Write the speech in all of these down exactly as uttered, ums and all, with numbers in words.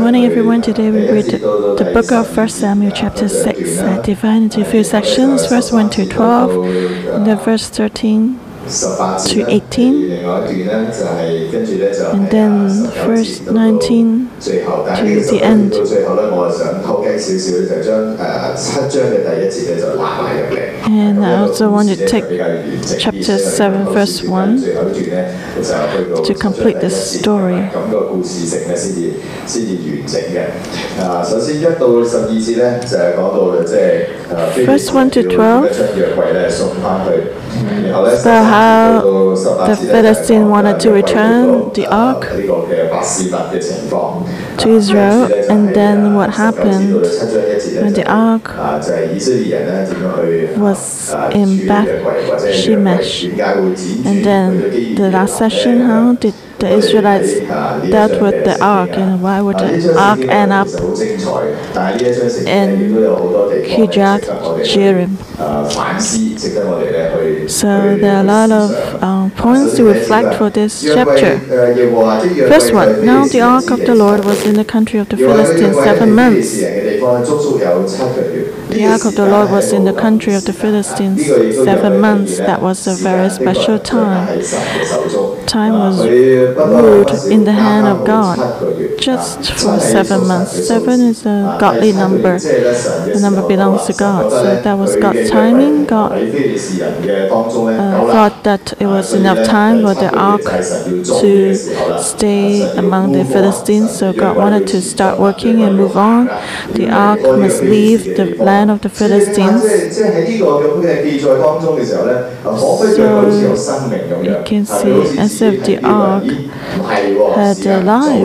morning, everyone. Today we read the, the book of First Samuel, chapter six, uh, divided into a few sections, verse one to twelve, and then verse thirteen to eighteen, and then verse nineteen to the end. And I also want to take chapter seven, verse one to complete the story. Verse one to twelve, so how the Philistine wanted to return the ark to Israel, and then what happened when the ark was in Beth Shemesh. And then the last session, how did the Israelites dealt with the ark, and why would the ark end up in Kirjath Jearim? So there are a lot of um, points to reflect for this chapter. First one, now the ark of the Lord was in the country of the Philistines seven months. The ark of the Lord was in the country of the Philistines seven months. That was a very special time. Time was ruled in the hand of God just for seven months. Seven is a godly number. The number belongs to God. So that was God's timing. God uh, thought that it was enough time for the ark to stay among the Philistines. So God wanted to start working and move on. The ark must leave the land of the Philistines. So you can see as if the ark had a life.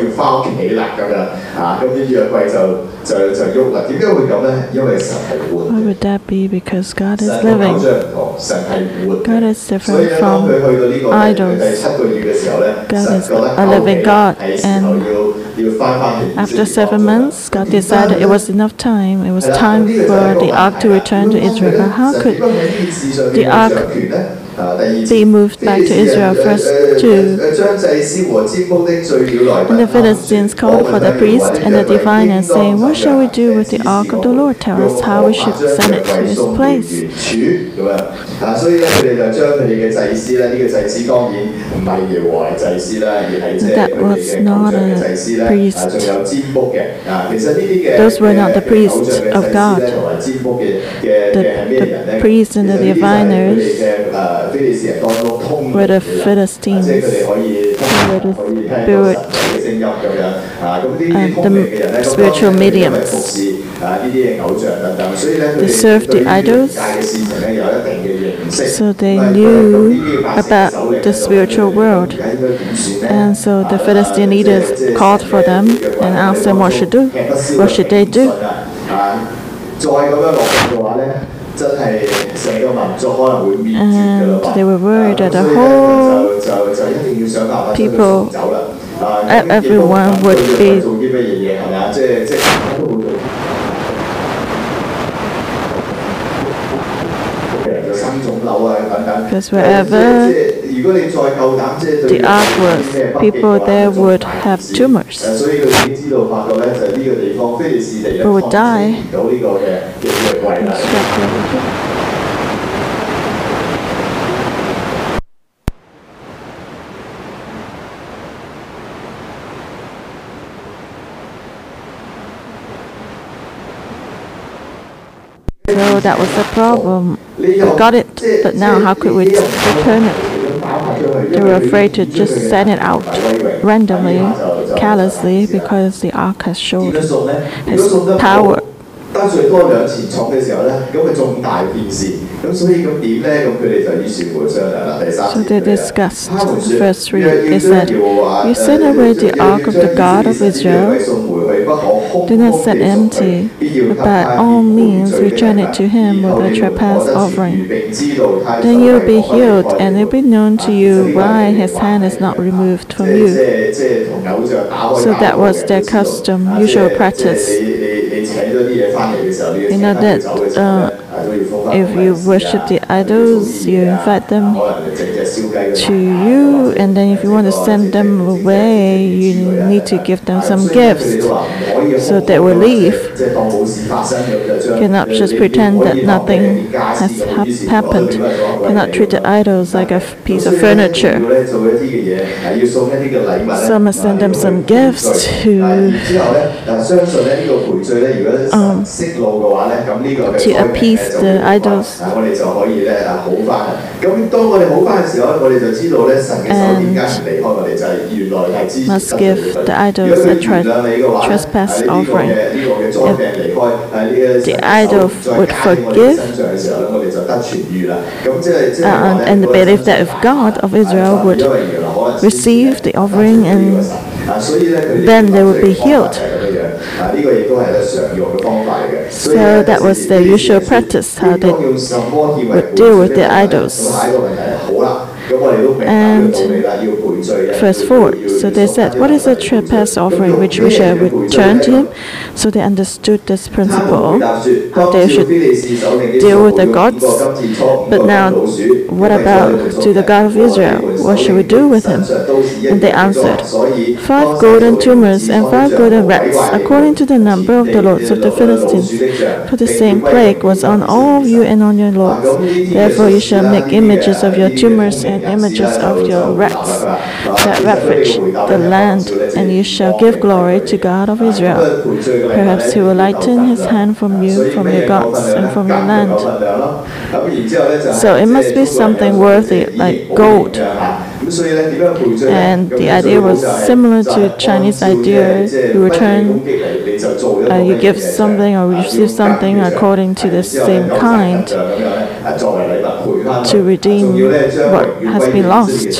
Why would that be? Because God is living. God is different from idols. God is a living God. And after seven months, God decided it was enough time. It was time for the ark to return to Israel. But how could the ark be moved back to Israel? Verse two. And the Philistines called for the priest and the diviner, saying, what shall we do with the ark of the Lord? Tell us how we should send it to its place. That was not a priest. Those were not the priests of God. The, the priests and the diviners were the Philistines, who were the spirit, uh, the spiritual mediums. They served the idols, so they knew about the spiritual world. And so the Philistine leaders called for them and asked them what should do. What should they do? And they were worried that the whole people, everyone would be because wherever the ark was, people there would have tumors. People would die. So that was the problem. We got it, but now how could we return it? They were afraid to just send it out randomly, carelessly, because the ark has showed its power. So they discussed. Verse three, they said, you send away the ark of the God of Israel. Do not send empty, but by all means return it to him with a trespass offering. Then you will be healed, and it will be known to you why his hand is not removed from you. So that was their custom, usual practice. You know that uh, if you worship the idols, you invite them to you, and then if you want to send them away, you need to give them some gifts so they will leave. You cannot just pretend that nothing has ha happened. You cannot treat the idols like a piece of furniture. So I must send them some gifts to um, to appease the idols. And must give the idols a tre trespass offering. If the idol would forgive, uh, and believe that if God of Israel would receive the offering, and then they would be healed. So that was the usual practice, how they would deal with the idols. And verse four, so they said, what is a trespass offering which we shall return to him? So they understood this principle, how they should deal with the gods. But now, what about to the God of Israel? What should we do with him? And they answered, five golden tumors and five golden rats, according to the number of the lords of the Philistines. For the same plague was on all of you and on your lords. Therefore you shall make images of your tumors and images of your rats that ravage the land, and you shall give glory to God of Israel. Perhaps he will lighten his hand from you, from your gods, and from your land. So it must be something worthy, like gold. And the idea was similar to Chinese idea. You return, uh, you give something or receive something according to the same kind to redeem what has been lost.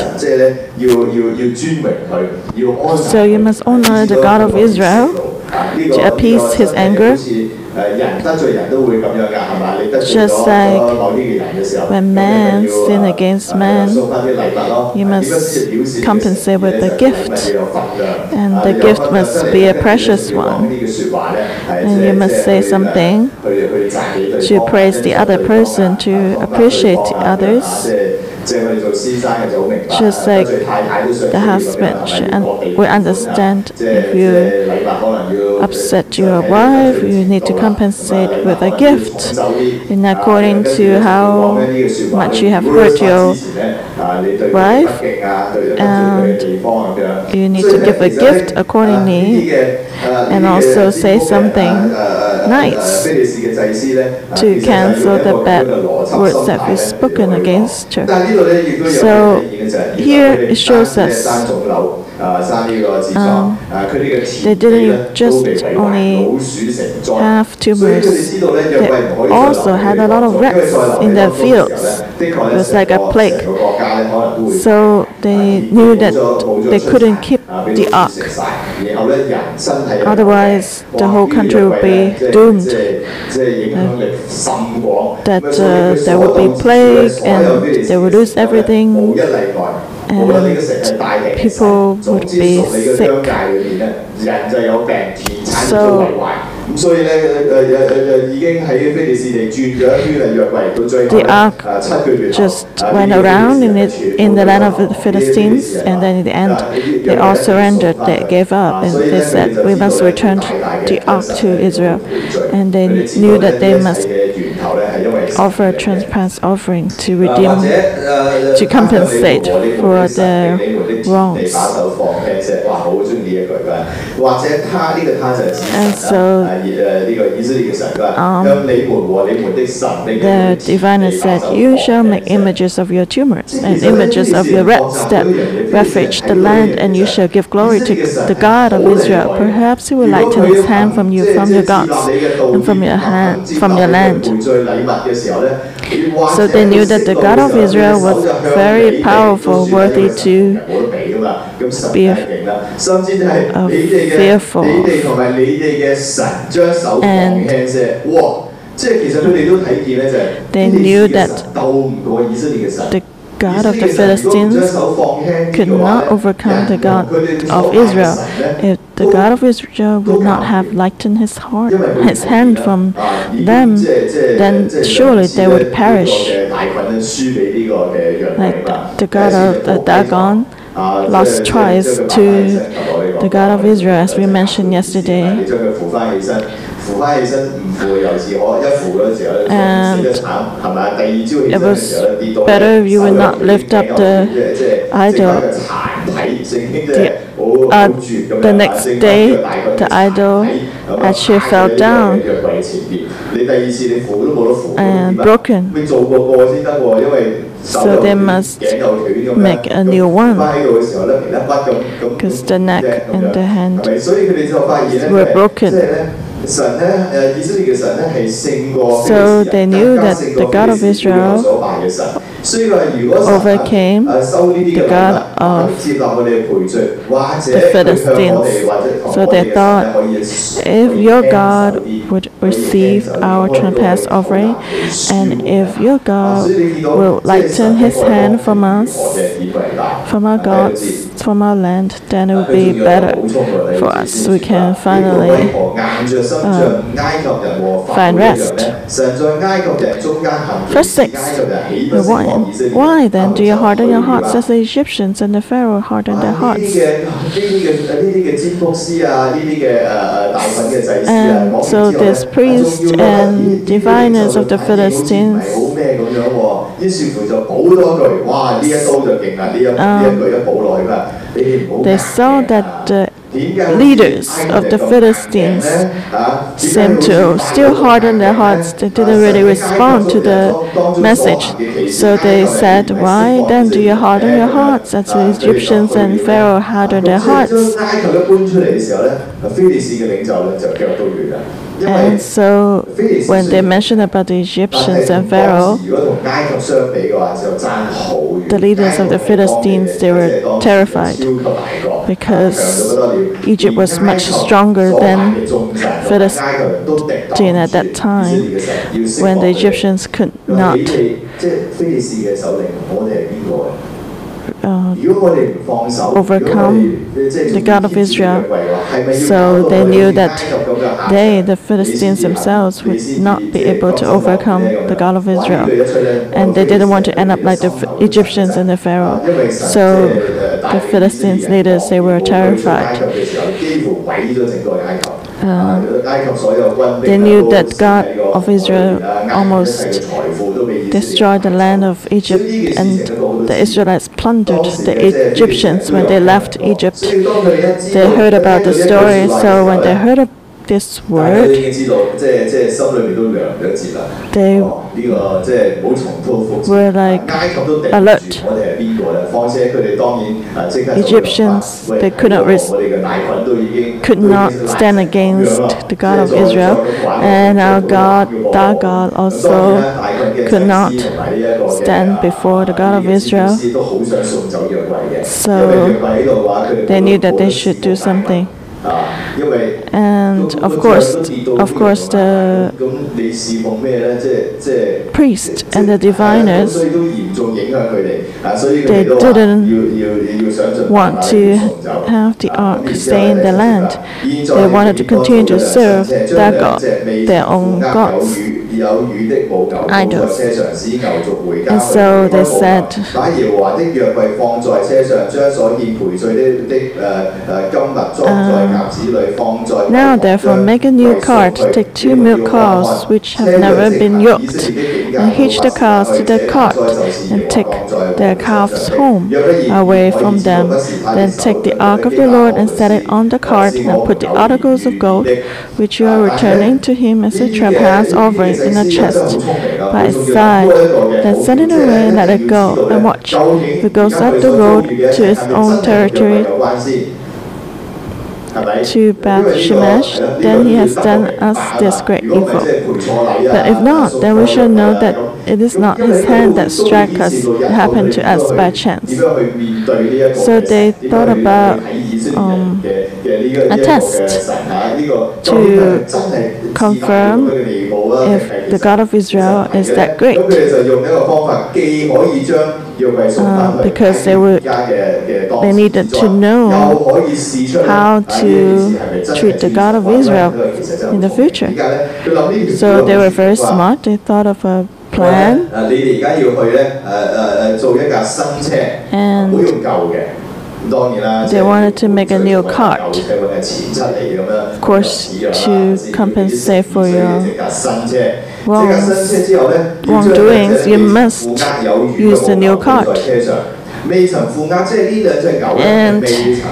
So you must honor the God of Israel to appease his anger. Just like when man sin against man, you must compensate with a gift, and the gift must be a precious one. And you must say something to praise the other person, to appreciate the others. Just like the husband should will understand if you upset your wife, you need to compensate with a gift in according to how much you have hurt your wife, and you need to give a gift accordingly, and also say something nice to cancel the bad words that we've spoken against her. So here it shows us um, they didn't just only have tumors, they also had a lot of rats in their fields. It was like a plague. So they knew that they couldn't keep the ark. Otherwise, the whole country would be doomed. Uh, that uh, there would be plague and they would lose everything, and people would be sick. So the ark just went around in it in the land of the Philistines, and then in the end they all surrendered, they gave up, and they said, we must return the ark to Israel. And they knew that they must offer a trespass offering to redeem, to compensate for their wrongs. And so um, the diviner said, you shall make images of your tumors and images of your rats that ravage the land, and you shall give glory to the God of Israel. Perhaps he will lighten his hand from you, from your gods, and from your hand, from your land. So they knew that the God of Israel was very powerful, worthy to be uh, fearful. And they knew that the God of the Philistines could not overcome the God of Israel. If the God of Israel would not have lightened his heart, his hand from them, then surely they would perish. Like the God of the Dagon lost twice to the God of Israel, as we mentioned yesterday. And it was better if you would not lift up the idol. The, uh, the next day, the idol actually fell down and broken. So they must make a new one, because the neck and the hand were broken. So they knew that the God of Israel overcame the God of the Philistines. So they thought, if your God would receive our trespass offering, and if your God will lighten his hand from us, from our gods, from our land, then it will be better for us. We can finally uh, find rest. Verse six. Why, why then do you harden your hearts as the Egyptians and the Pharaoh hardened their hearts? And so this priest and diviners of the Philistines, um, they saw that the leaders of the Philistines seemed to still harden their hearts. They didn't really respond to the message. So they said, why then do you harden your hearts as the Egyptians and Pharaoh hardened their hearts? And so when they mentioned about the Egyptians and Pharaoh, the leaders of the Philistines, they were terrified, because Egypt was much stronger than Philistine at that time, when the Egyptians could not Uh, overcome the God of Israel. So they knew that they, the Philistines themselves, would not be able to overcome the God of Israel. And they didn't want to end up like the Egyptians and the Pharaoh. So the Philistines leaders, they were terrified. Uh, they knew that God of Israel almost destroyed the land of Egypt, and the Israelites plundered the Egyptians when they left Egypt. They heard about the story, so when they heard of this word, they were like alert. Egyptians, they could not, res- could not stand against the God of Israel, and our God, Dagon, also could not stand before the God of Israel. So they knew that they should do something. And of course, of course, the priests and the diviners, they didn't want to have the ark stay in the land. They wanted to continue to serve their God, their own gods, idols. And so they said, um, now therefore make a new cart, take two milk cows which have never been yoked, and hitch the cows to the cart, and take their calves home away from them. Then take the ark of the Lord and set it on the cart, and put the articles of gold which you are returning to him as a trespass offering in a chest by its side. Then send it away and let it go, and watch. If it goes up the road to its own territory, to Beth Shemesh, then he has done us this great evil. But if not, then we shall know that it is not his hand that struck us, it happened to us by chance. So they thought about um, a test to confirm if the God of Israel is that great. Uh, because they would, they needed to know how to treat the God of Israel in the future. So they were very smart. They thought of a plan. And they wanted to make a new cart, of course, to compensate for your wrongs, wrongdoings. You must use the new cart. And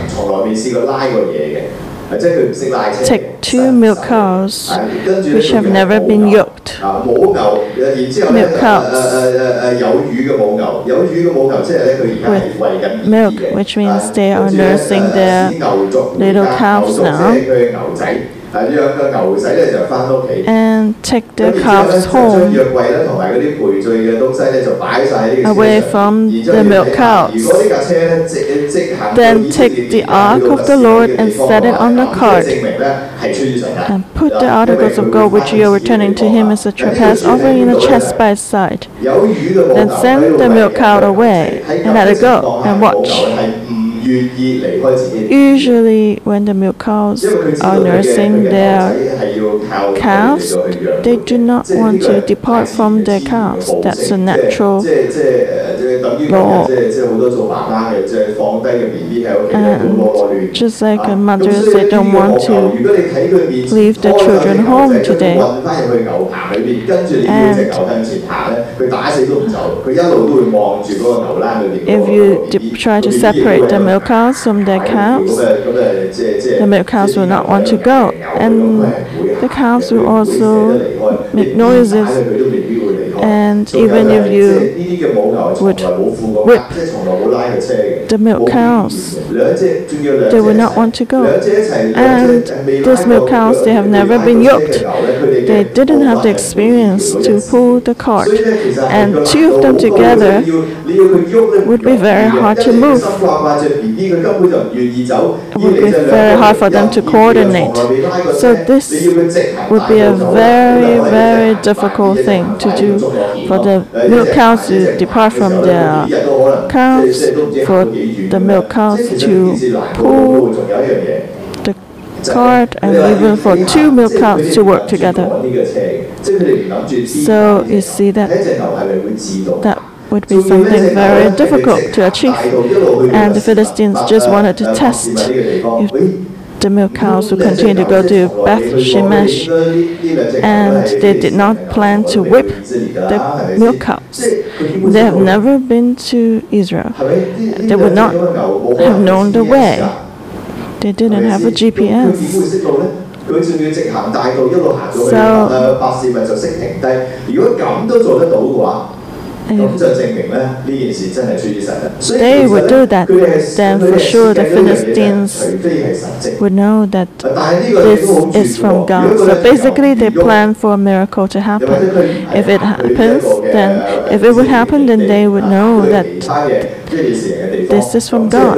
take two milk cows which have never been yoked. Milk cows with milk, which means they are nursing their little calves now. And take the calves home away from the milk cows. Then take the ark of the Lord and set it on the cart, and put the articles of gold which you are returning to him as a trespass offering in a chest by his side. Then send the milk cow away and let it go, and watch. Usually when the milk cows are nursing their calves, they do not want to depart from their calves. That's a natural law. And just like mothers, they don't want to leave the children home today. And if you try to separate the milk cows from their calves, the milk cows will not want to go, and the calves will also make noises. And even if you would whip the milk cows, they will not want to go. And these milk cows, they have never been yoked. They didn't have the experience to pull the cart, and two of them together would be very hard to move. It would be very hard for them to coordinate. So this would be a very, very difficult thing to do, for the milk cows to depart from their calves, for the milk cows to pull the cart, and even for two milk cows to work together. So you see that that would be something very difficult to achieve. And the Philistines just wanted to test if the milk cows would continue to go to Beth Shemesh, and they did not plan to whip the milk cows. They have never been to Israel. They would not have known the way. They didn't have a G P S. If they would do that, then for sure the Philistines would know that this is from God. So basically they plan for a miracle to happen. If it happens, then if it would happen, then they would know that this is from God.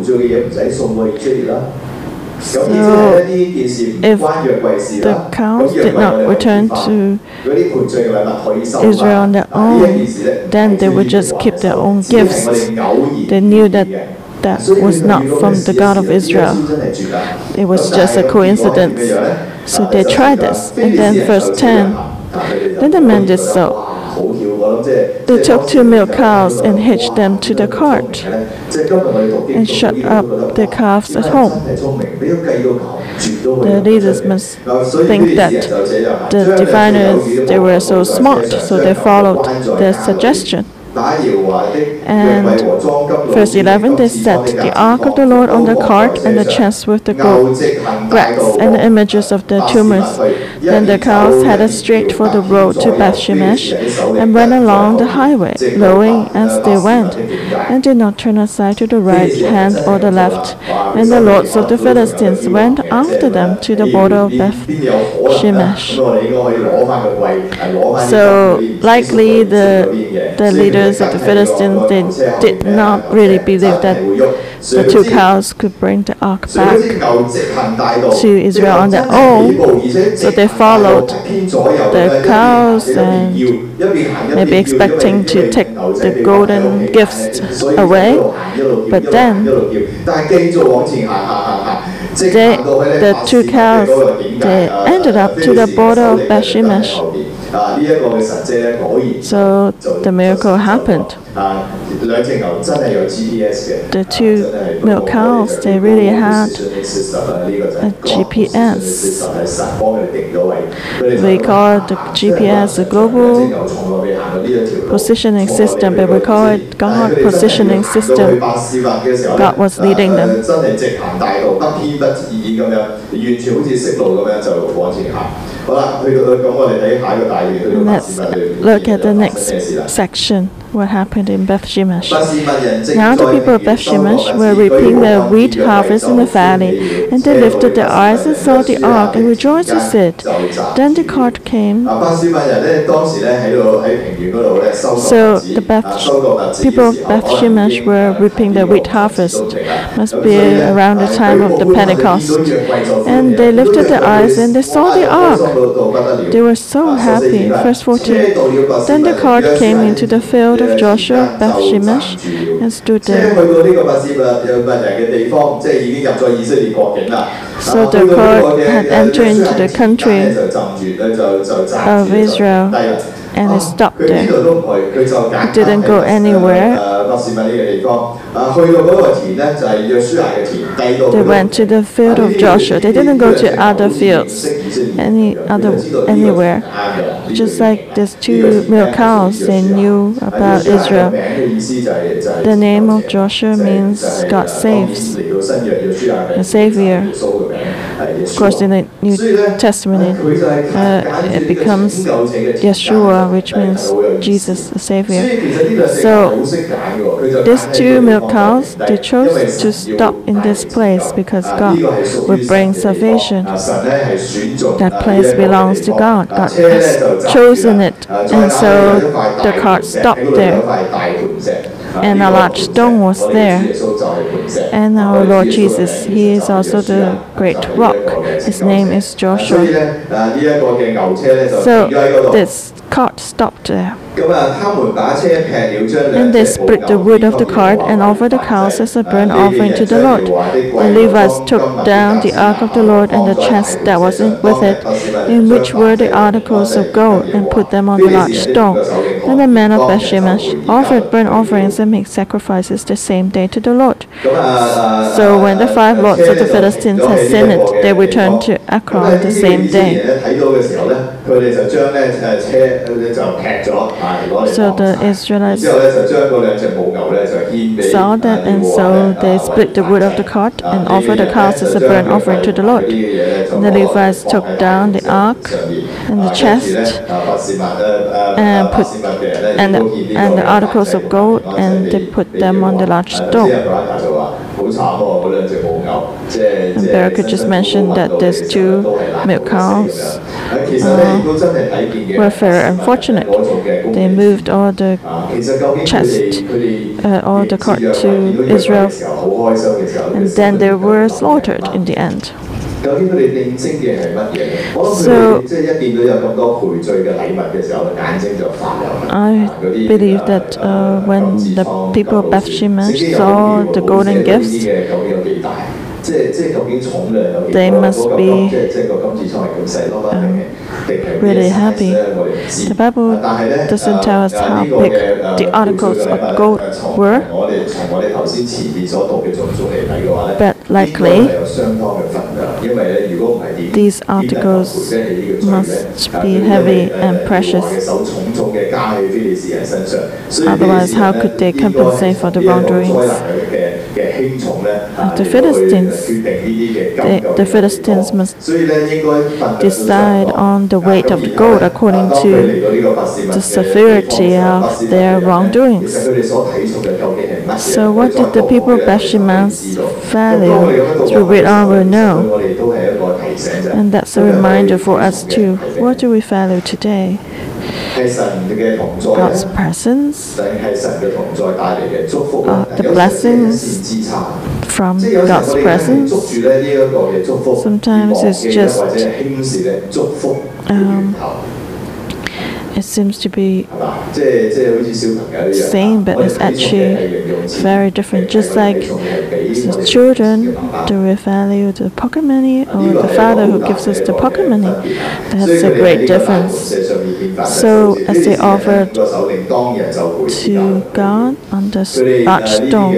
So, if the cows did not return to Israel on their own, then they would just keep their own gifts. They knew that that was not from the God of Israel. It was just a coincidence. So they tried this. And then verse ten, then the men did so. They took two milk cows and hitched them to the cart and shut up their calves at home. The leaders must think that the diviners, they were so smart, so they followed their suggestion. And verse eleven, they set the ark of the Lord on the cart and the chest with the gold bracts and the images of the tumors. Then the cows headed straight for the road to Beth Shemesh and went along the highway, lowing as they went, and did not turn aside to the right hand or the left. And the lords of the Philistines went after them to the border of Beth Shemesh. So likely the the leaders of the Philistines, they did not really believe that the two cows could bring the ark back to Israel on their own. So they followed the cows and maybe expecting to take the golden gifts away. But then they, the two cows, they ended up to the border of Beth-shemesh. So the miracle happened. The two milk cows, they really had a G P S. We call the G P S a global positioning system, but we call it God positioning system. God was leading them. Let's look at the next section. What happened in Beth-shemesh? Now the people of Beth-shemesh were reaping their wheat harvest in the valley, and they lifted their eyes and saw the ark and rejoiced with it. Then the cart came. So the Beth, people of Beth-shemesh were reaping their wheat harvest. Must be around the time of the Pentecost. And they lifted their eyes and they saw the ark. They were so happy. Verse fourteen. Then the cart came into the field of Joshua, Beth-shemesh, and stood there. So the cart had entered into the country of Israel, and it stopped there. It didn't go anywhere. They went to the field of Joshua. They didn't go to other fields, any other anywhere. Just like these two milk cows, they knew about Israel. The name of Joshua means God saves, the Savior. Of course, in the New Testament, uh, it becomes Yeshua, which means Jesus, the Savior. So these two milk cows, they chose to stop in this place because God would bring salvation. That place belongs to God. God has chosen it, and so the cart stopped there. And a large stone was there. And our Lord Jesus, He is also the great rock. His name is Joshua. So this cart stopped there. And they split the wood of the cart and offered the cows as a burnt offering to the Lord. The Levites took down the ark of the Lord and the chest that was in with it, in which were the articles of gold, and put them on the large stone. Then the men of Beth-shemesh offered burnt offerings and made sacrifices the same day to the Lord. So when the five lords of the Philistines had seen it, they returned to Ekron the same day. So the Israelites saw that, and so they split the wood of the cart and offered the cows as a burnt offering to the Lord. And the Levites took down the ark and the chest and put and the, and the articles of gold, and they put them on the large stone. And Barak just mentioned that these two milk cows uh, were very unfortunate. They moved all the chest, uh, all the cart to Israel, and then they were slaughtered in the end. So I believe that uh, when the people of Beth-shemesh saw the golden gifts, they must be um, really happy. The Bible doesn't tell us how big the articles of gold were, but likely these articles must be heavy and precious. Otherwise, how could they compensate for the wrongdoings of the Philistines? They, the Philistines must decide on the weight of the gold according to the severity of their wrongdoings. So what did the people of Beth-shemesh value? As we read on, we'll know. And that's a reminder for us too. What do we value today? God's presence, uh, the blessings from God's presence. Sometimes it's just um, it seems to be same, but it's actually very different. Just like the children, do we value the pocket money or the Father who gives us the pocket money? That's a great difference. So as they offered to God on the large stone,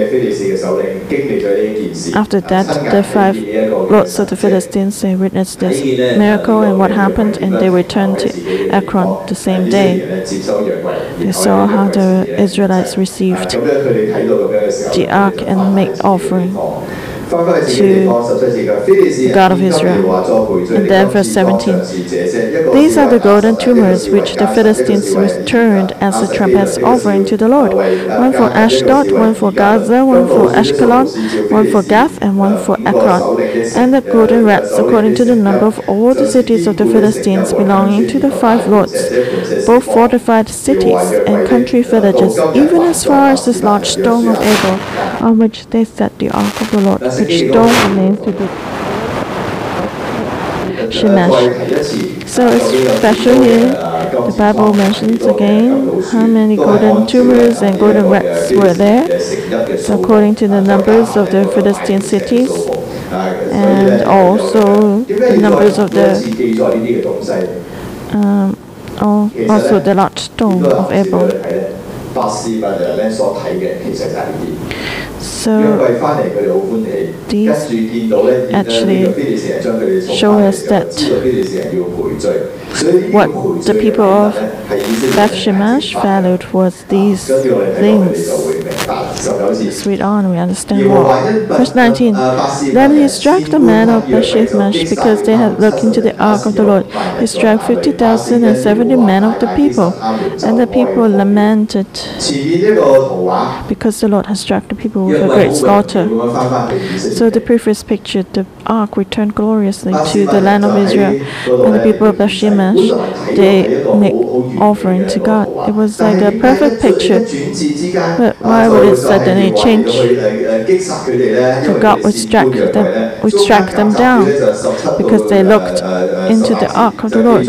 after that the five lords of the Philistines, they witnessed this miracle and what happened, and they returned to Ekron the same day. They saw how the Israelites received the ark and made offering to God of Israel. And then verse seventeen. These are the golden tumors which the Philistines returned as a trespass offering to the Lord. One for Ashdod, one for Gaza, one for Ashkelon, one for Gath, and one for Ekron. And the golden rats according to the number of all the cities of the Philistines belonging to the five lords, both fortified cities and country villages, even as far as this large stone of Abel, on which they set the ark of the Lord, which stone remains to the Shemesh. So it's special here. The Bible mentions again how many golden tumors and golden rats were there. So according to the numbers of the Philistine cities, and also the numbers of the um, also the large stone of Abel. So these actually show us that what the people of Beth Shemesh valued was these things. Let's read on, we understand more. Verse nineteen. Then he struck the men of Beth Shemesh because they had looked into the ark of the Lord. He struck fifty thousand and seventy men of the people. And the people lamented because the Lord has struck the people with a great slaughter. So the previous picture, the ark returned gloriously to the land of Israel, and the people of Beth Shemesh, they make offering to God. It was like a perfect picture. But why would it suddenly change? So God would strike them, would strike them down because they looked into the ark of the Lord.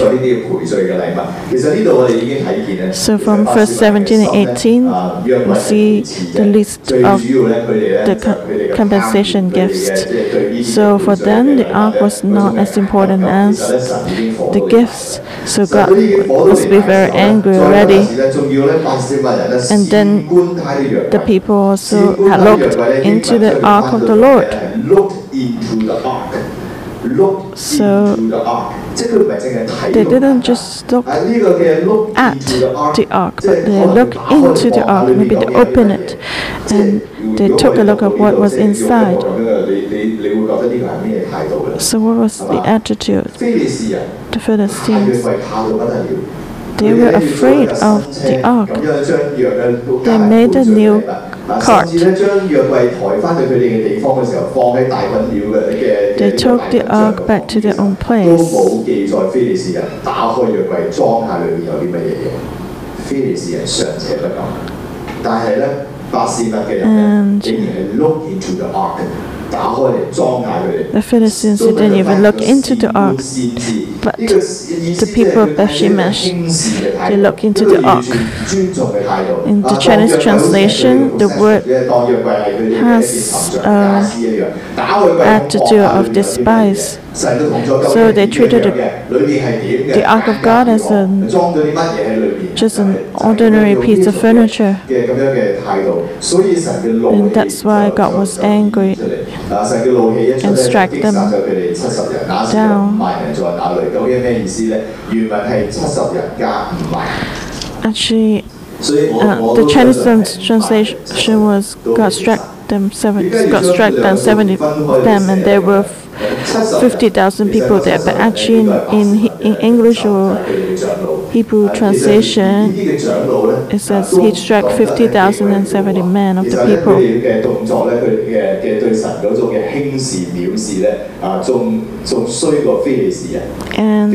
So from verse seventeen and eighteen, we see the list of the compensation gifts. So for them, the ark was not as important as the gifts. So God must be very angry already. And then the people also had looked into the ark of the Lord. So they didn't just look at the ark, but they looked into the ark. Maybe they opened it and they took a look at what was inside. So what was the attitude? The Philistines, they were afraid of the ark. They made a new cart. They took the ark back to their own place. And the Philistines didn't even look into the ark, but the people of Beth Shemesh, they looked into the ark. In the Chinese translation, the word has an attitude of despise. So they treated the, the ark of God as a, just an ordinary piece of furniture. And that's why God was angry and struck them down. Actually, uh, the Chinese translation was God struck them seven, God struck down seventy of them, and they were fifty thousand people there. But actually, in, in, in English or Hebrew translation, it says he struck fifty thousand seventy men of the people. And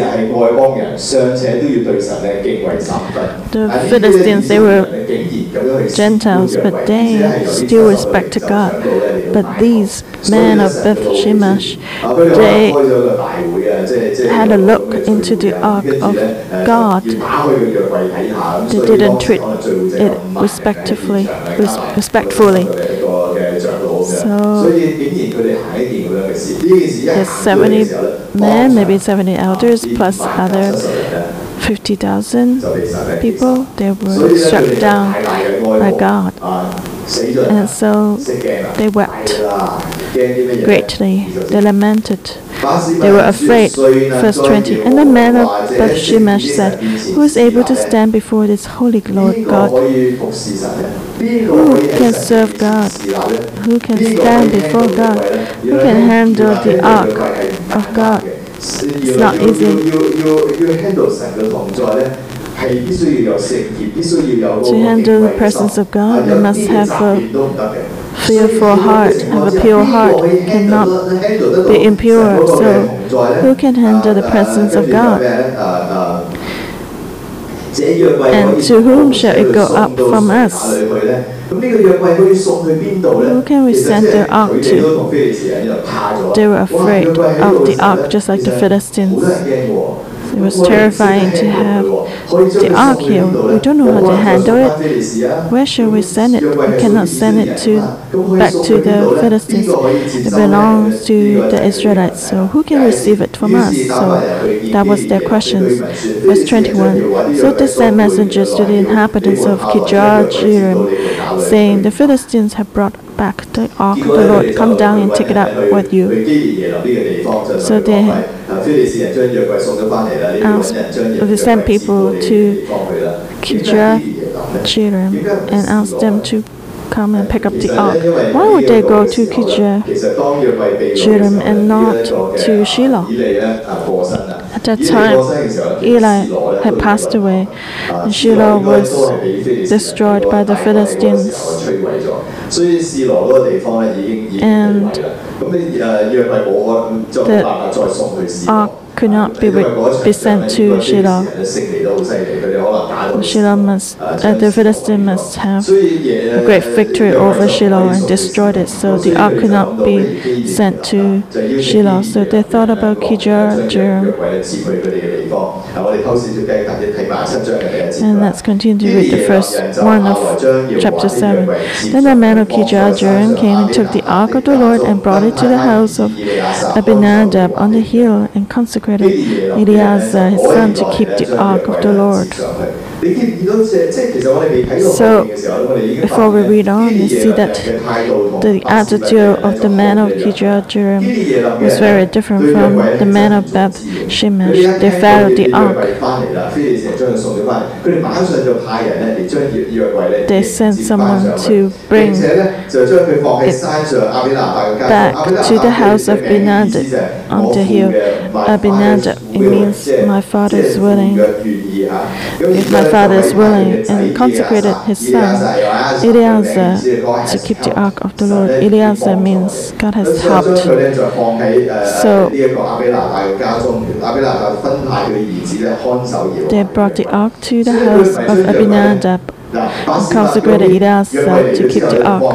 the Philistines, they were Gentiles, but they still respected God. But these men of Beth Shemesh, they had a look into the ark of God. They didn't treat it respectively, res respectfully. So there's seventy men, maybe seventy elders, plus other fifty thousand people. They were struck down by God. And so they wept greatly. They lamented. They were afraid. Verse twenty. And the man of Beth Shemesh said, who is able to stand before this holy Lord God? Who can serve God? Who can stand before God? Who can handle the ark of God? It's not easy. To handle the presence of God, you must have a fearful heart, have a pure heart, cannot be impure. So, who can handle the presence of God? And to whom shall it go up from us? Who can we send the ark to? They were afraid of the ark, just like the Philistines. It was terrifying to have the ark here. We don't know how to handle it. Where shall we send it? We cannot send it to back to the Philistines. It belongs to the Israelites. So who can receive it from us? So that was their questions. Verse twenty-one. So they sent messengers to the inhabitants of Kirjath-jearim, saying, the Philistines have brought back the ark of the Lord. Come down and take it up with you. So they asked, they sent people to Kirjath-jearim and asked them to come and pick up the ark. Why would they go to Kirjath-jearim and not to Shiloh? At that time, Eli had passed away, and Shiloh was destroyed by the Philistines. And the ark could not be, be sent to Shiloh. Shiloh must, uh, the Philistines must have a great victory over Shiloh and destroyed it. So the ark could not be sent to Shiloh. So they thought about Kirjath-jearim. And let's continue to read the first one of chapter seven. Then the man of Kirjath-jearim came and took the ark of the Lord and brought it to the house of Abinadab on the hill and consecrated Eleazar his son to keep the ark of the Lord. So, before we read on, you see that the attitude of the man of Kirjath-jearim was very different from the man of Beth Shemesh. They followed the ark. They sent someone to bring it back to the house of Abinadab on the hill. Abinadab, it means my father is willing. If my father is willing, and consecrated his son Eleazar to keep the ark of the Lord. Eleazar means God has helped. So they brought the ark to the house of Abinadab and consecrated Eleazar to keep the ark.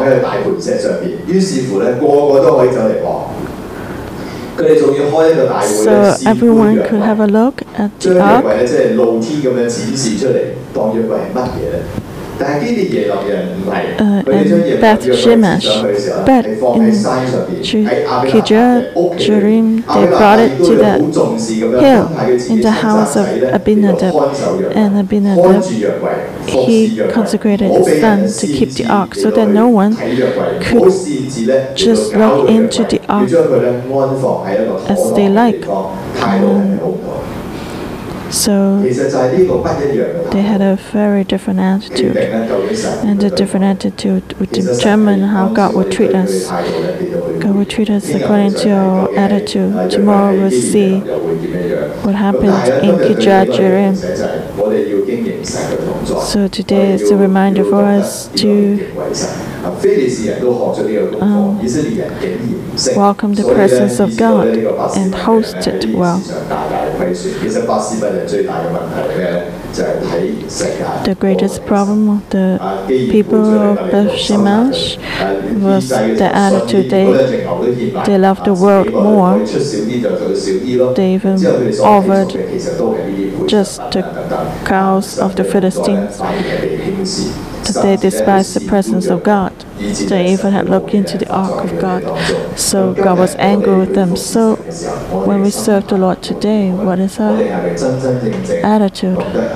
So everyone could have a look at the ark. Uh, in Beth Shemesh, but in Kirjath-jearim, they brought it to the hill in the house of Abinadab, and Abinadab, he consecrated his son to keep the ark, so that no one could just look into the ark as they like. Um, So they had a very different attitude, and the different attitude would determine how God would treat us. God will treat us according to our attitude. Tomorrow we'll see what happened in Kirjath Jearim. So today is a reminder for us to um, welcome the presence of God and host it well. The greatest problem of the people of Beth-Shemesh was the attitude. They, they loved the world more. They even offered just the cows of the Philistines. That they despised the presence of God. They even had looked into the ark of God. So God was angry with them. So when we serve the Lord today, what is our attitude?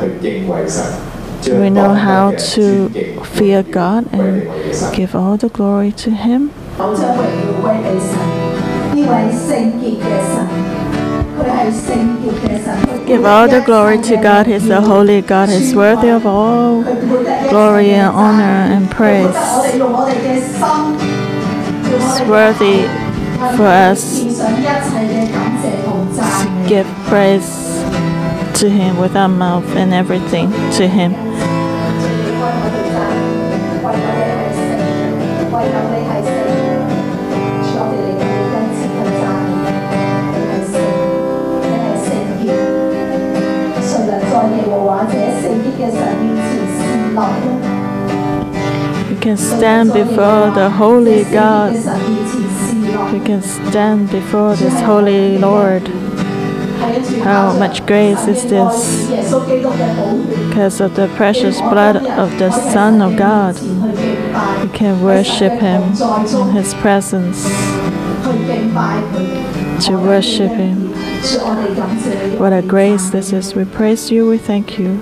Do we know how to fear God and give all the glory to Him? Give all the glory to God. He's the holy God. He's worthy of all glory and honor and praise. It's worthy for us to give praise to Him with our mouth and everything to Him. We can stand before the holy God. We can stand before this holy Lord. How much grace is this? Because of the precious blood of the Son of God, we can worship Him in His presence. To worship Him. What a grace this is. We praise You, we thank You.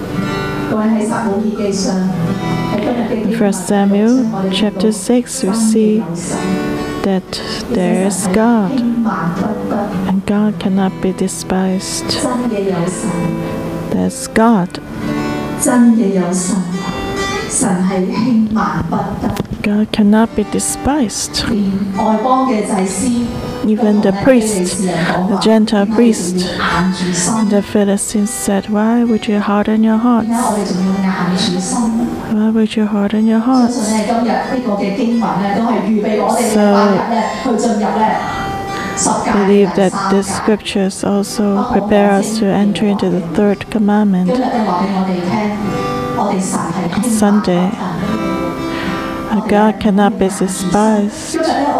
In First Samuel chapter six, we see that there is God, and God cannot be despised. There's God. God cannot be despised. Even the priest, the Gentile priest, the Philistines said, "Why would you harden your hearts? Why would you harden your hearts?" So, I believe that the scriptures also prepare us to enter into the third commandment. On Sunday, God cannot be despised.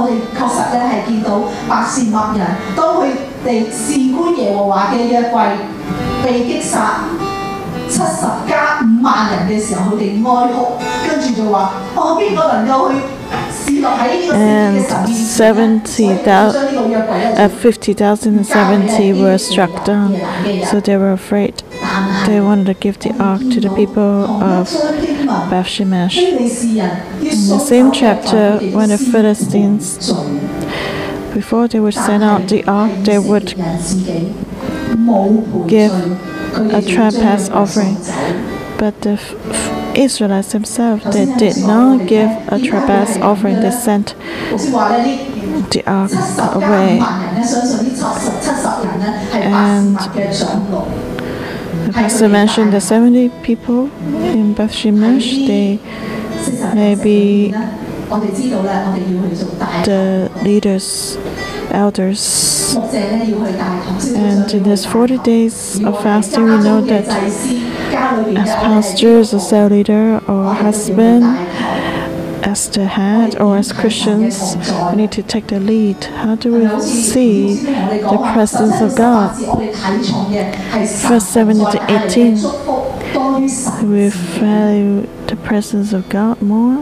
And seventy thousand, uh, fifty thousand and seventy were struck down, so they were afraid. They wanted to give the ark to the people of Beth-Shemesh. In the same chapter, when the Philistines, before they would send out the ark, they would give a trespass offering. But the Israelites themselves, they did not give a trespass offering. They sent the ark away. And the pastor mentioned the seventy people in Beth-Shemesh. They may be the leaders, elders. And in these forty days of fasting, we know that as pastors, as cell leader, or husband, as the head, or as Christians, we need to take the lead. How do we see the presence of God? Verse seven to eighteen. Do we value the presence of God more,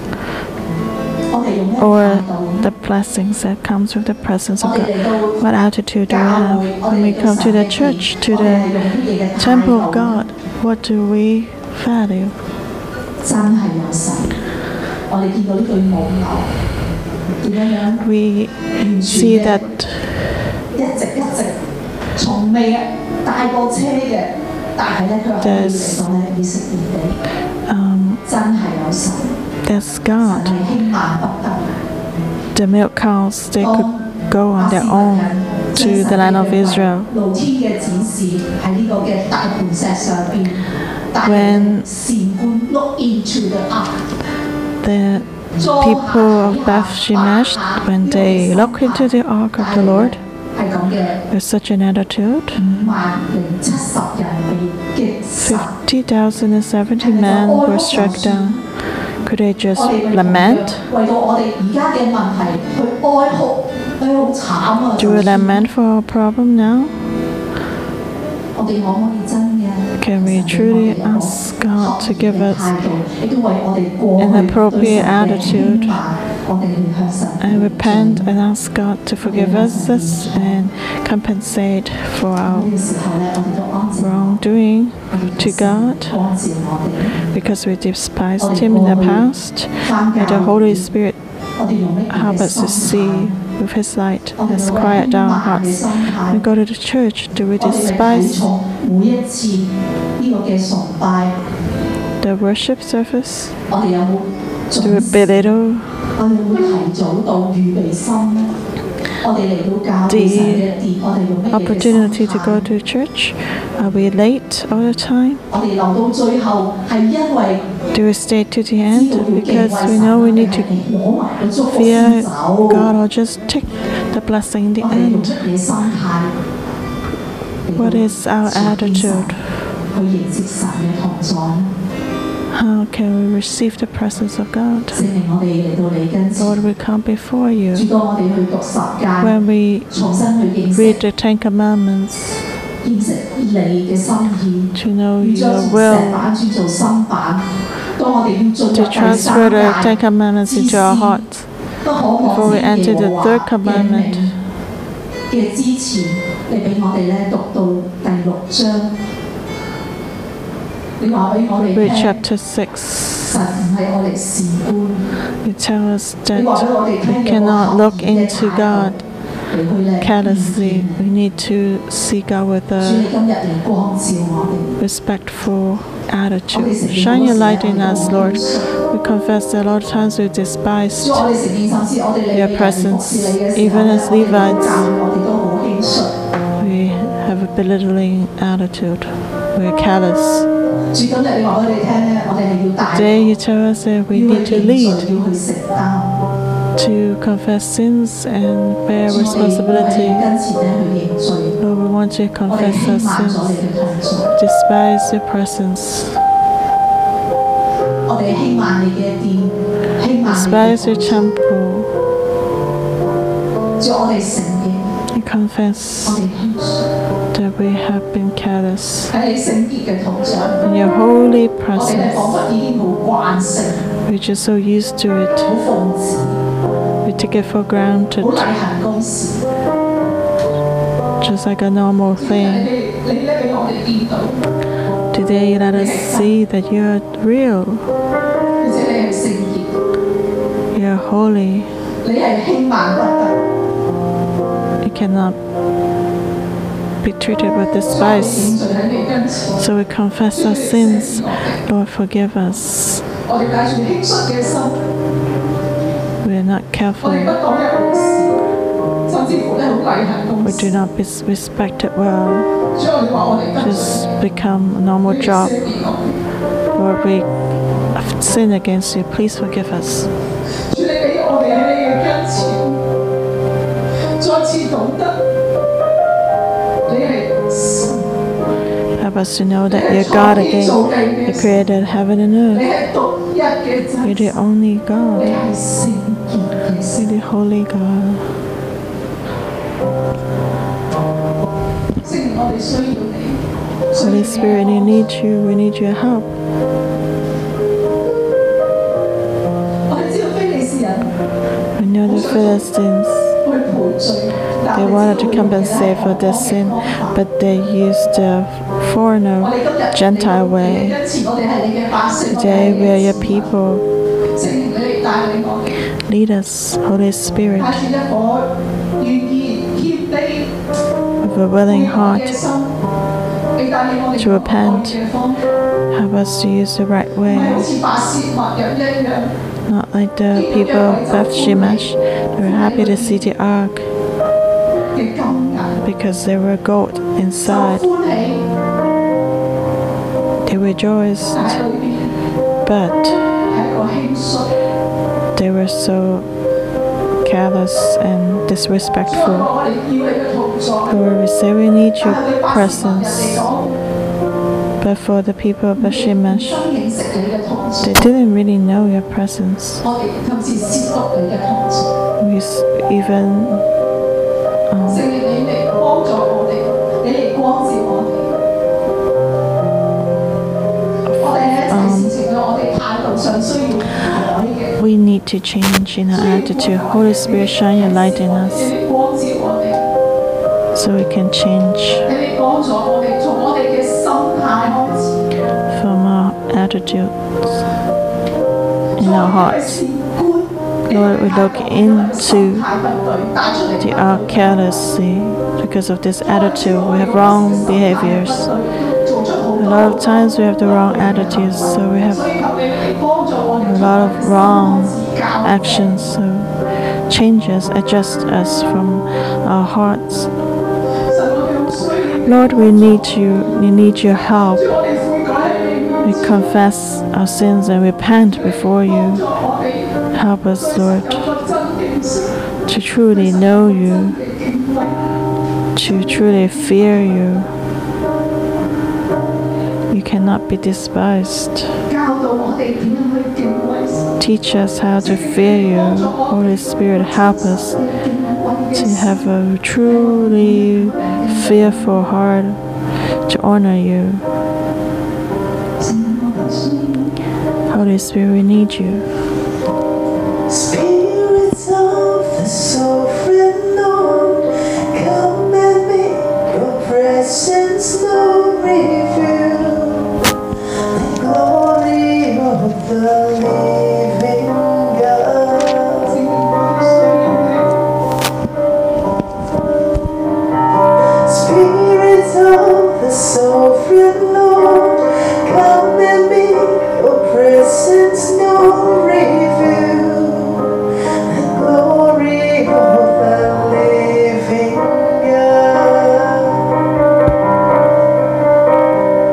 or the blessings that comes with the presence of God? What attitude do we have when we come to the church, to the temple of God? What do we value? We see that There's, um, there's God. The milk cows, they could go on their own to the land of Israel. When the people of Beth Shemesh, when they look into the ark of the Lord, with such an attitude, fifty thousand seventy men were struck down. Could they just lament? Do we lament for our problem now? Can we truly ask God to give us an appropriate attitude and repent and ask God to forgive us and compensate for our wrongdoing to God because we despised Him in the past? May the Holy Spirit help us to see with His light. Let's quiet down our hearts. When we go to the church, do we despise the worship service? Do we belittle the opportunity to go to church? Are we late all the time? Do we stay to the end because we know we need to fear God or just take the blessing in the end? What is our attitude? How can we receive the presence of God? Lord, we come before you. When we read the Ten Commandments, to know your will, to transfer the Ten Commandments into our hearts. Before we enter the third commandment, read chapter six. You tell us that we cannot look into God carelessly. We need to seek God with a respectful attitude. Shine your light in us, Lord. We confess that a lot of times we despised your presence. Even as Levites, we have a belittling attitude. We are callous. Today you tell us that we need to lead, to confess sins and bear responsibility. Lord, we want to confess our sins, despise your presence, despise your temple, and confess that we have been careless in your holy presence. We're just so used to it. We take it for granted, just like a normal thing. Today, let us see that you are real. You are holy. You cannot be treated with despise. So we confess our sins. Lord, forgive us. We are not careful. We do not respect it well. Just become a normal job. Lord, we have sinned against you. Please forgive us. Help us to know that you're God again. You created heaven and earth. You're the only God. You're the holy God. Holy Spirit, we need you. We need your help. We know the Philistines, they wanted to compensate for their sin, but they used the foreigner, Gentile way. Today we are your people. Lead us, Holy Spirit, with have a willing heart to repent. Help us to use the right way. Not like the people of Beth Shemesh. They were happy to see the ark because there were gold inside. They rejoiced, but they were so careless and disrespectful. Lord, we say we need your presence. But for the people of Shemesh, they didn't really know your presence. We even um, um, we need to change in our attitude. Holy Spirit, shine your light in us so we can change from our attitudes in our hearts. Lord, we look into the our carelessly because of this attitude. We have wrong behaviors. A lot of times we have the wrong attitudes, so we have a lot of wrong actions. So change us, adjust us from our hearts. Lord, we need you. We need your help. We confess our sins and repent before you. Help us, Lord, to truly know you, to truly fear you. You cannot be despised. Teach us how to fear you. Holy Spirit, help us to have a truly fearful heart to honor you. Holy Spirit, we need you. Spirits of the sovereign Lord, come and make your presence known, reveal the glory of the living God. Spirits of the sovereign Lord, come and make your presence known, reveal the glory of the living God.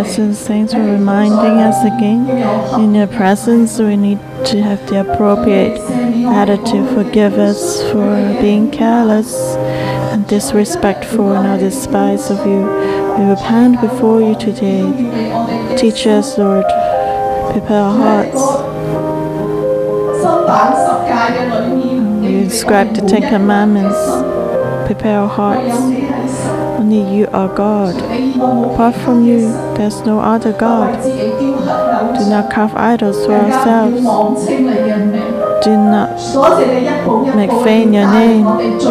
presence. Thanks for reminding us again. In your presence, we need to have the appropriate attitude. Forgive us for being careless and disrespectful and our despise of you. We repent before you today. Teach us, Lord. Prepare our hearts. We inscribe the Ten Commandments. Prepare our hearts. Only you are God. Apart from you, there's no other God. Do not carve idols for ourselves. Do not make vain your name.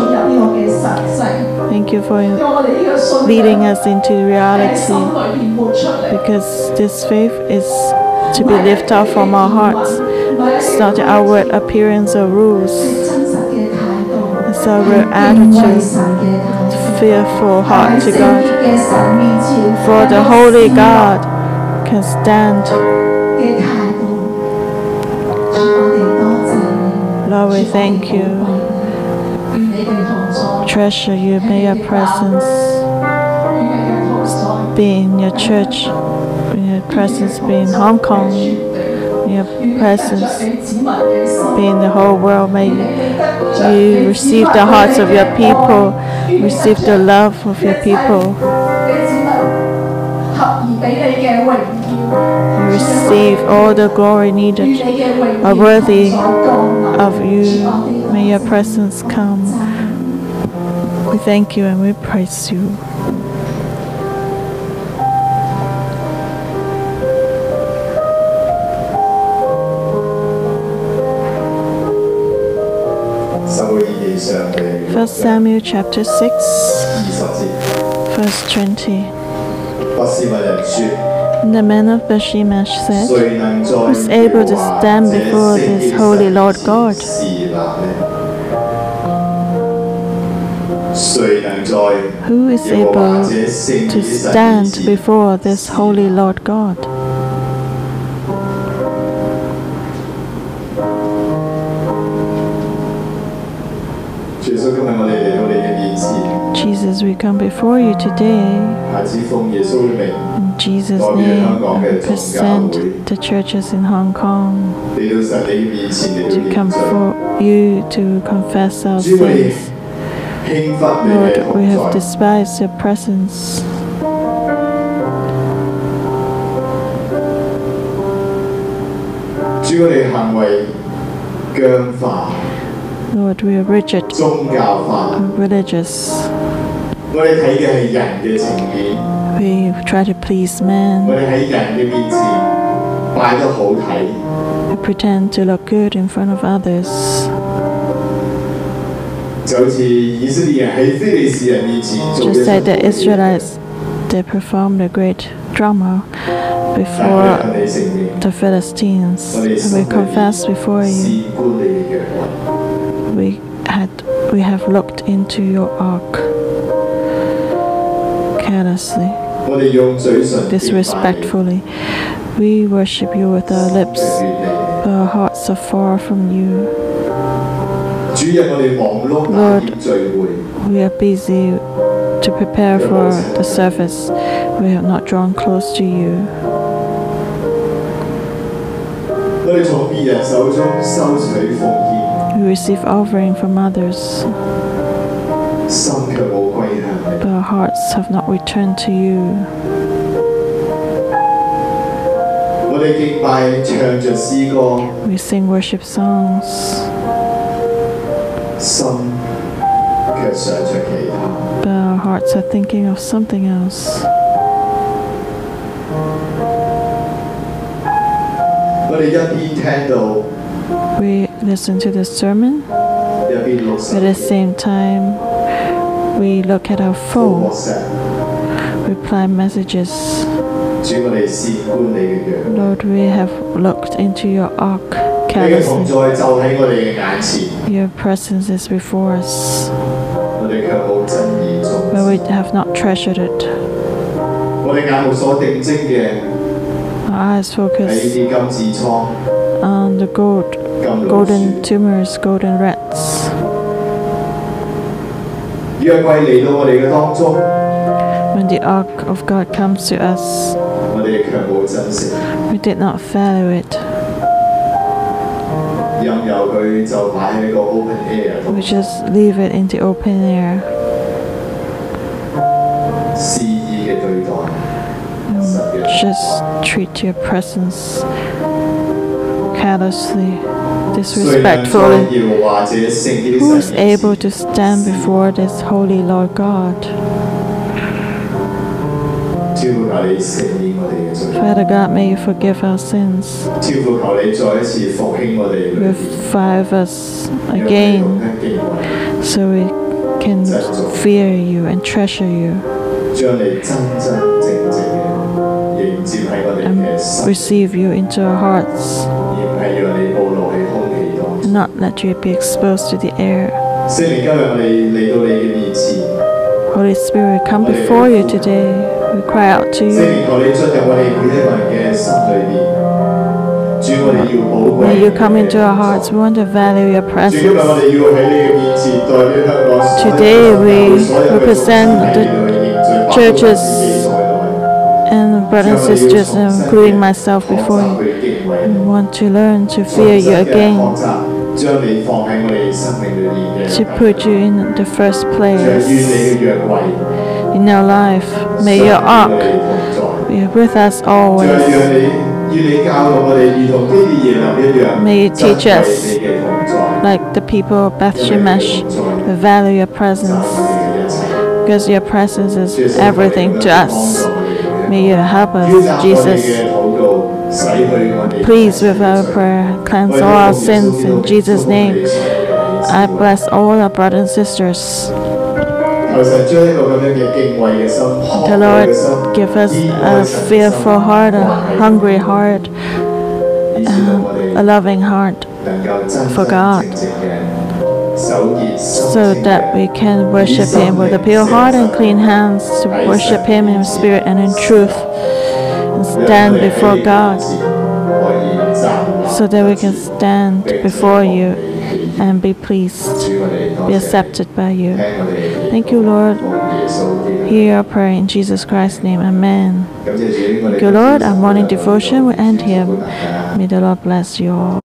Thank you for leading us into reality, because this faith is to be lifted up from our hearts. It's not the outward appearance or rules. It's our real attitude, fearful heart to God. For the holy God can stand. Lord, we thank you. Treasure you. May your presence be in your church. May your presence be in Hong Kong. May your presence be in the whole world. May you receive the hearts of your people. Receive the love of your people. Receive all the glory needed, are worthy of you. May your presence come. We thank you and we praise you. First Samuel chapter six, verse twenty. The man of Bethshemesh said, "Who is able to stand before this holy Lord God? Who is able to stand before this holy Lord God?" Jesus, we come before you today. In Jesus' name, and present the churches in Hong Kong to come for you to confess our sins. Lord, we have despised your presence. Lord, we are rigid, religious. We try to please man. We pretend to look good in front of others. Just like the Israelites, they performed a great drama before the Philistines. We confess before you. We had, we have looked into your ark carelessly, disrespectfully. We worship you with our lips, but our hearts are far from you. Lord, we are busy to prepare for the service. We have not drawn close to you. We receive offering from others, but our hearts have not returned to you. We sing worship songs, but our hearts are thinking of something else. We listen to the sermon, but at the same time, we look at our phone, reply messages. Lord, we have looked into your ark carelessly. Your presence is before us, but we have not treasured it. Our eyes focus on the gold, golden tumors, golden rats. When the ark of God comes to us, 我哋卻冇珍惜， We did not value it. 任由佢就擺喺個 open air 度， We just leave it in the open air. 肆意嘅對待，實嘅 Just treat your presence carelessly, 誰能在 disrespectfully. 耶和華這聖潔的 Who is 神面 able 前 to stand before this holy Lord God? 主求你赦免我哋嘅罪， Father God, may you forgive our sins. 主求你再一次復興我哋裏邊， Revive us 讓我哋懂 again 得敬畏， so we can fear you and treasure you 將你真真正正嘅迎接喺我哋 and 嘅心， receive you into our hearts 而唔係讓你暴露喺空氣當 and 中。 not let you be exposed to the air. 聖靈今日我哋嚟到你嘅面前， Holy Spirit, we come before you today. We cry out to 聖 you. 靈求你進入我哋每一個人嘅心裏邊，主我哋要寶貴 May you come 你嘅 into our 同 hearts. 在 We want to value your 主今日我 presence. 哋要喺你嘅面前代表香港所有 Today we 所有嘅 represent 眾 the 喺度去認罪，包括 churches 自己在內。 And brothers and sisters, including myself before you, we want to learn to fear you again, 將你放喺我哋生命裏面嘅 to put you in the first 讓 place 與你嘅約櫃 in our life. May your 常與 ark 我哋同在。 be with us 再 always. 讓你與你教導我哋，如同基列耶林一樣， May you 珍 teach 貴 us 你嘅同在， Like the people of Beth Shemesh, we value your 讚 presence 美你嘅一切。 because your presence is 主耶穌， everything to 幫 us. 助我哋 May you help 要 us, 答我哋 Jesus. 嘅禱告，洗去我哋 Please, with our prayer, cleanse all our sins in Jesus' name. I bless all our brothers and sisters. 求神將一個咁樣嘅敬畏嘅心、 The 渴慕嘅 Lord 心 give us 依 a 愛神嘅心 fearful heart, a 放喺 hungry heart, 以致到我 a 哋 loving heart, 能夠真 for 真 God 正正嘅守潔心 so 清 that 嘅 we can worship Him with a pure heart and clean hands, to worship Him in spirit and in truth, and stand before God, so that we can stand before you and be pleased, be accepted by you. Thank you, Lord. Hear our prayer in Jesus Christ's name. Amen. Thank you, Lord. Our morning devotion will end here. May the Lord bless you all.